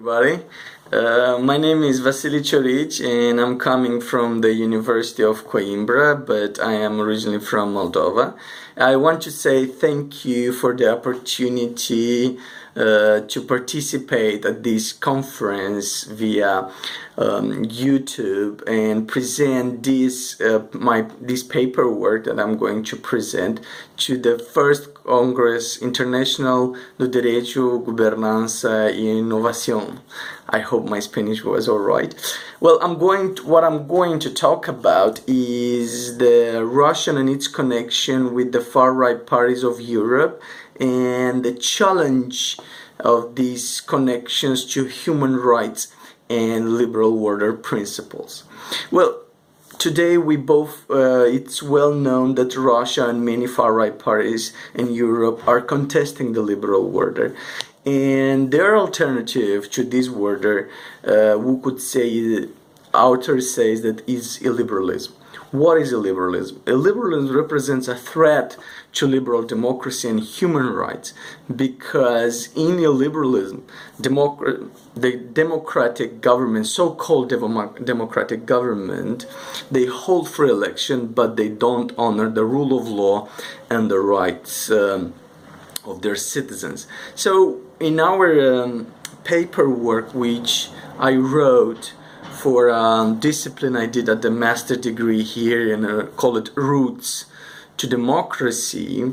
everybody. My name is Vasily Choric and I'm coming from the University of Coimbra, but I am originally from Moldova. I want to say thank you for the opportunity to participate at this conference via YouTube and present this paperwork that I'm going to present to the first Congress International do Direito, Governança e Inovação. I hope my Spanish was alright. Well, what I'm going to talk about is the Russia and its connection with the far-right parties of Europe and the challenge of these connections to human rights and liberal order principles. Well, today it's well known that Russia and many far-right parties in Europe are contesting the liberal order. And their alternative to this order, we could say, author says that is illiberalism. What is illiberalism? Illiberalism represents a threat to liberal democracy and human rights because in illiberalism, the democratic government, so-called democratic government, they hold free election, but they don't honor the rule of law and the rights of their citizens. So in our paperwork, which I wrote for a discipline I did at the master degree here and call it Roots to Democracy,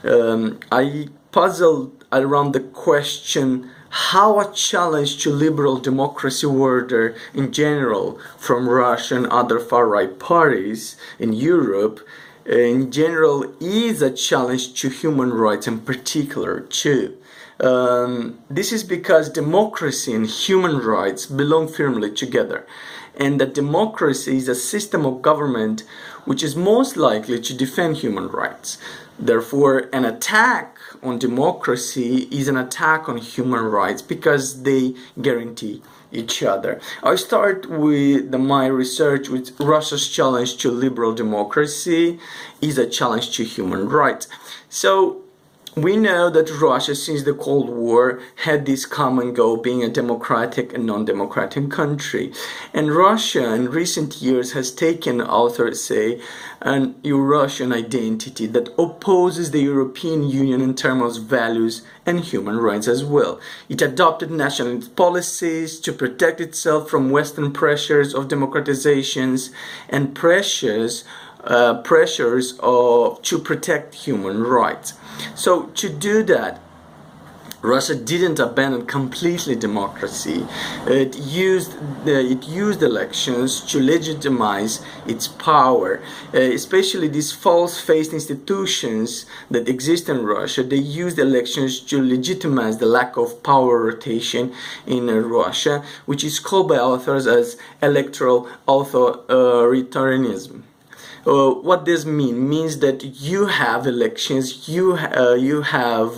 I puzzled around the question how a challenge to liberal democracy order in general from Russia and other far-right parties in Europe in general is a challenge to human rights in particular too. This is because democracy and human rights belong firmly together, and that democracy is a system of government which is most likely to defend human rights. Therefore, an attack on democracy is an attack on human rights because they guarantee each other. I start with my research with Russia's challenge to liberal democracy is a challenge to human rights. So we know that Russia, since the Cold War, had this common goal being a democratic and non-democratic country. And Russia in recent years has taken, authors say, an Eurasian identity that opposes the European Union in terms of values and human rights as well. It adopted nationalist policies to protect itself from Western pressures of democratizations and pressures to protect human rights. So to do that, Russia didn't abandon completely democracy. It used elections to legitimize its power, especially these false-faced institutions that exist in Russia. They used elections to legitimize the lack of power rotation in Russia, which is called by authors as electoral authoritarianism. What this means that you have elections, you have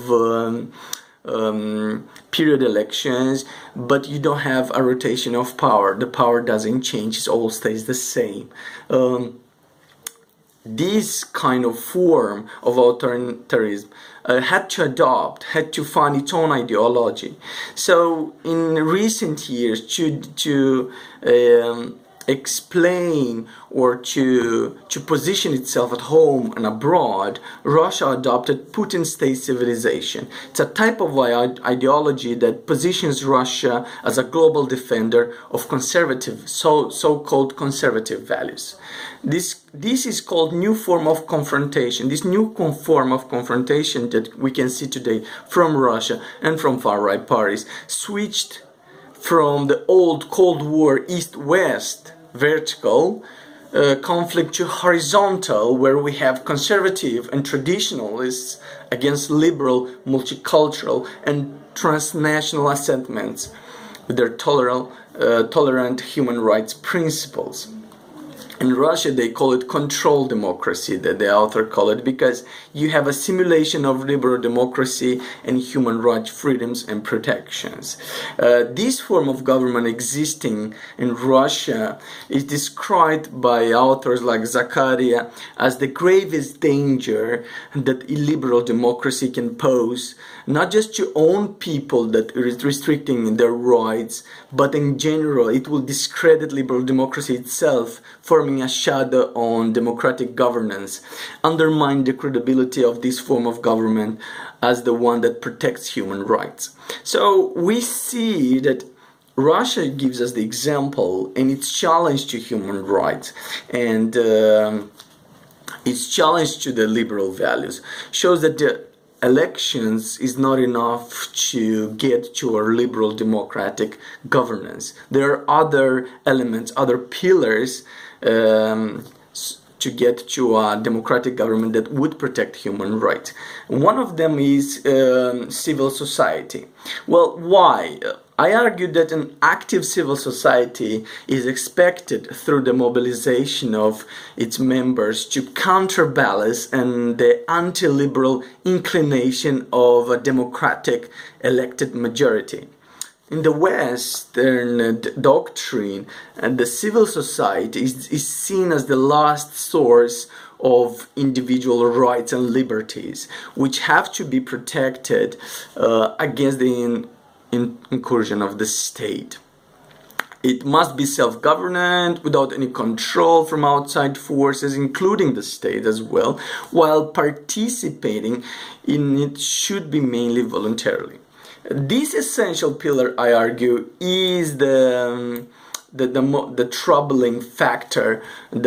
period elections, but you don't have a rotation of power. The power doesn't change, it all stays the same. This kind of form of authoritarianism had to find its own ideology. So in recent years, to explain or to position itself at home and abroad, Russia adopted Putin's state civilization. It's a type of ideology that positions Russia as a global defender of conservative, so-called conservative values. This is called new form of confrontation. This new form of confrontation that we can see today from Russia and from far-right parties switched from the old Cold War East-West vertical conflict to horizontal, where we have conservative and traditionalists against liberal, multicultural and transnational assentments with their tolerant human rights principles. In Russia, they call it control democracy, that the author call it, because you have a simulation of liberal democracy and human rights, freedoms and protections. This form of government existing in Russia is described by authors like Zakaria as the gravest danger that illiberal democracy can pose, not just to own people that is restricting their rights, but in general it will discredit liberal democracy itself, forming a shadow on democratic governance, undermine the credibility of this form of government as the one that protects human rights. So we see that Russia gives us the example in its challenge to human rights and its challenge to the liberal values shows that the elections is not enough to get to a liberal democratic governance. There are other elements, other pillars to get to a democratic government that would protect human rights. One of them is civil society. Well, why? I argue that an active civil society is expected through the mobilization of its members to counterbalance and the anti-liberal inclination of a democratic elected majority. In the Western doctrine, the civil society is seen as the last source of individual rights and liberties, which have to be protected against the incursion of the state. It must be self-governant without any control from outside forces, including the state as well, while participating in it should be mainly voluntarily. This essential pillar, I argue, is the troubling factor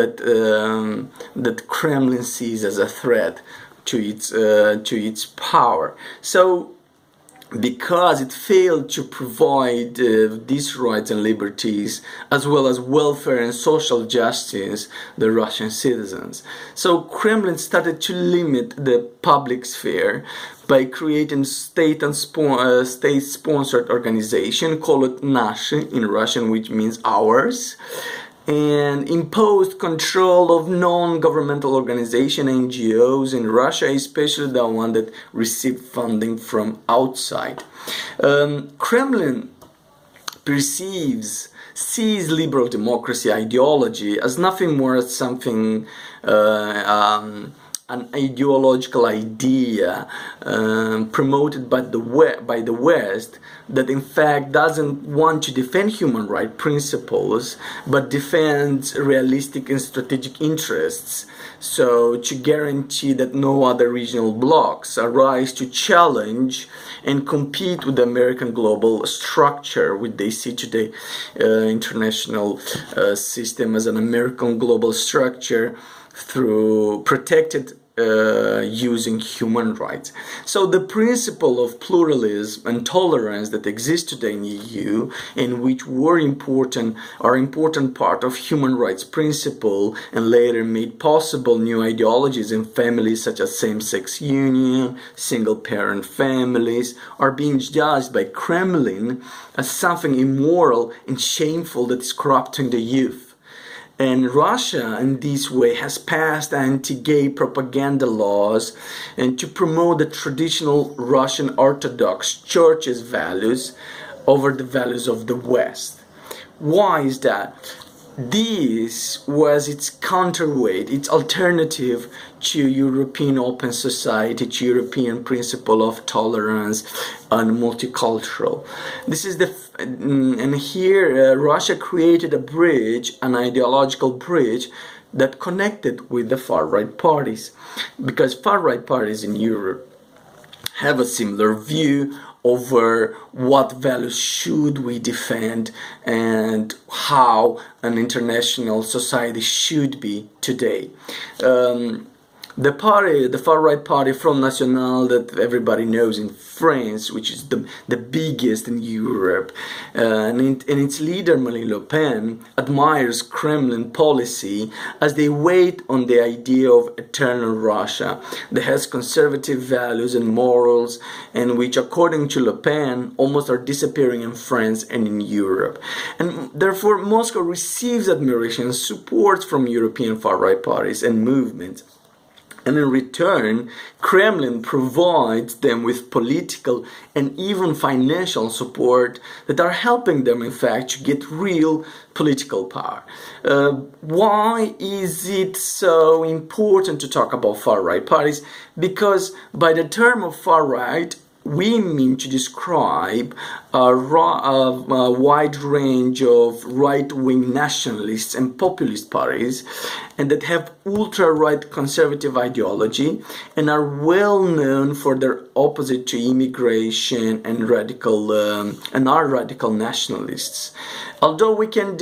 that Kremlin sees as a threat to its power. So, because it failed to provide these rights and liberties as well as welfare and social justice the Russian citizens. So Kremlin started to limit the public sphere by creating state-sponsored organization, call it Nashi in Russian, which means ours, and imposed control of non-governmental organizations, NGOs in Russia, especially the one that received funding from outside. Kremlin sees liberal democracy ideology as nothing more than something an ideological idea promoted by the West that in fact doesn't want to defend human rights principles but defends realistic and strategic interests, so to guarantee that no other regional blocs arise to challenge and compete with the American global structure, which they see today international system as an American global structure through protected using human rights. So the principle of pluralism and tolerance that exists today in EU, and which are important part of human rights principle, and later made possible new ideologies in families such as same-sex union, single-parent families, are being judged by Kremlin as something immoral and shameful that is corrupting the youth. And Russia, in this way, has passed anti-gay propaganda laws and to promote the traditional Russian Orthodox Church's values over the values of the West. Why is that? This was its counterweight, its alternative to European open society, to European principle of tolerance and multicultural. This is and here Russia created a bridge, an ideological bridge that connected with the far-right parties, because far-right parties in Europe have a similar view over what values should we defend and how an international society should be today. The far-right party Front National that everybody knows in France, which is the biggest in Europe, and its leader Marine Le Pen admires Kremlin policy as they wait on the idea of eternal Russia that has conservative values and morals, and which, according to Le Pen, almost are disappearing in France and in Europe. And therefore, Moscow receives admiration and support from European far-right parties and movements. And in return, Kremlin provides them with political and even financial support that are helping them, in fact, to get real political power. Why is it so important to talk about far-right parties? Because by the term of far-right, we mean to describe a wide range of right-wing nationalists and populist parties, and that have ultra-right conservative ideology and are well known for their opposite to immigration and are radical nationalists. Although we can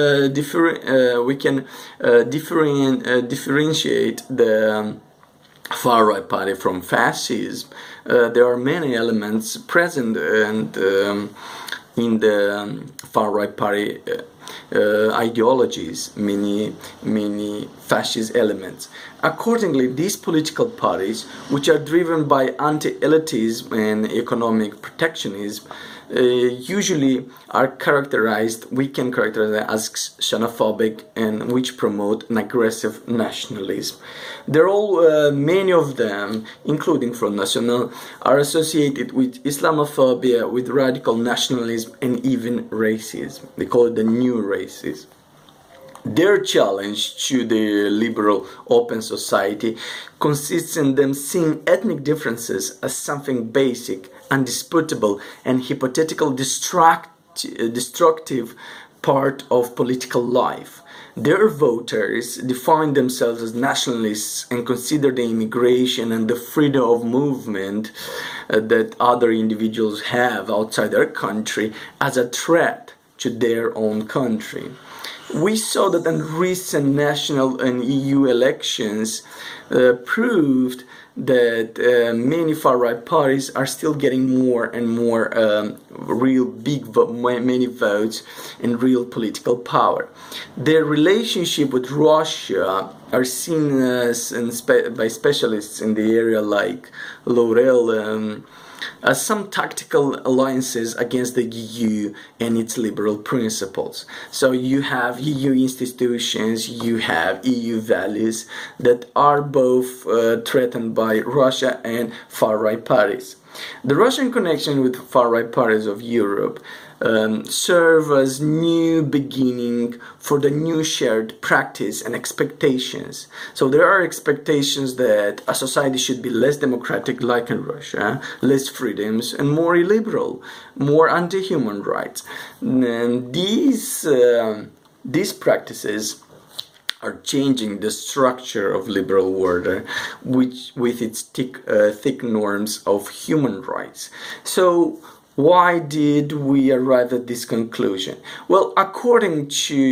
differentiate the far-right party from fascism, there are many elements present and in the far-right party ideologies, many fascist elements. Accordingly, these political parties, which are driven by anti-elitism and economic protectionism, usually are we can characterize as xenophobic, and which promote an aggressive nationalism. Many of them, including Front National, are associated with Islamophobia, with radical nationalism, and even racism. They call it the new racism. Their challenge to the liberal open society consists in them seeing ethnic differences as something basic, undisputable, and hypothetical destructive part of political life. Their voters define themselves as nationalists and consider the immigration and the freedom of movement that other individuals have outside their country as a threat to their own country. We saw that in recent national and EU elections proved that many far-right parties are still getting more and more many votes and real political power. Their relationship with Russia are seen as by specialists in the area like Laurel as some tactical alliances against the EU and its liberal principles. So you have EU institutions, you have EU values that are both threatened by Russia and far-right parties. The Russian connection with far-right parties of Europe serve as new beginning for the new shared practice and expectations. So there are expectations that a society should be less democratic like in Russia, less freedoms, and more illiberal, more anti-human rights. And these practices are changing the structure of liberal order, which with its thick norms of human rights. So why did we arrive at this conclusion? Well, according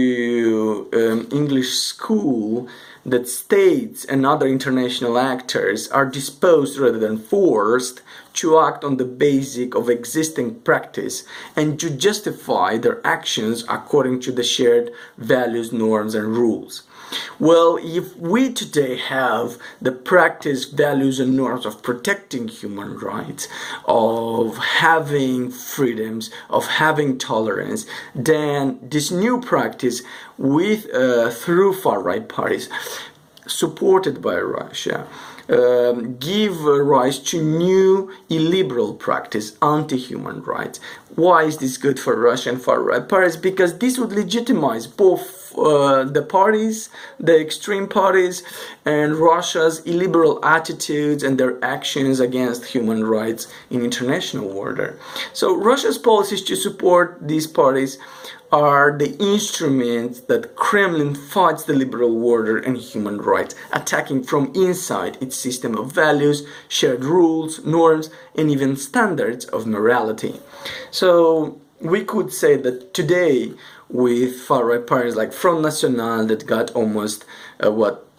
to English School, that states and other international actors are disposed rather than forced to act on the basis of existing practice and to justify their actions according to the shared values, norms, and rules. Well, if we today have the practice, values, and norms of protecting human rights, of having freedoms, of having tolerance, then this new practice through far-right parties supported by Russia give rise to new illiberal practice, anti-human rights. Why is this good for Russian far-right parties? Because this would legitimize both the parties, the extreme parties, and Russia's illiberal attitudes and their actions against human rights in international order. So Russia's policies to support these parties are the instruments that Kremlin fights the liberal order and human rights, attacking from inside its system of values, shared rules, norms, and even standards of morality. So we could say that today, with far-right parties like Front National that got almost 10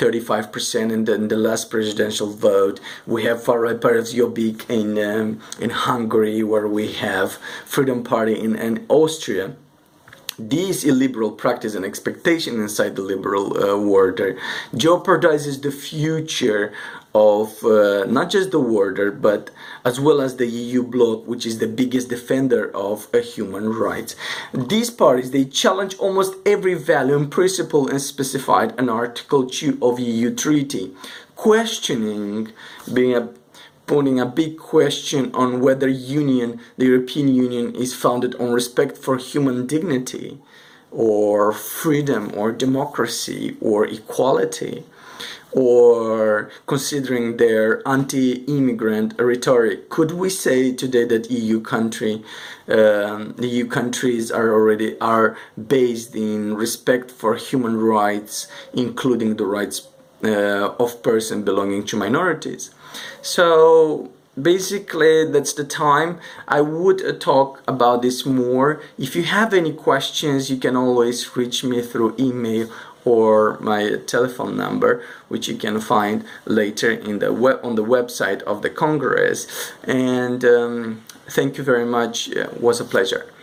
35% in the last presidential vote. We have Jobbik in Hungary, where we have Freedom Party in Austria. This illiberal practice and expectation inside the liberal world jeopardizes the future of not just the world, but as well as the EU bloc, which is the biggest defender of human rights. These parties, they challenge almost every value and principle and specified in Article 2 of EU Treaty, questioning, putting a big question on whether the European Union is founded on respect for human dignity, or freedom, or democracy, or equality, or considering their anti-immigrant rhetoric. Could we say today that the EU countries are based in respect for human rights, including the rights of persons belonging to minorities? So basically that's the time. I would talk about this more. If you have any questions, you can always reach me through email or my telephone number, which you can find later on the website of the Congress. And thank you very much. It was a pleasure.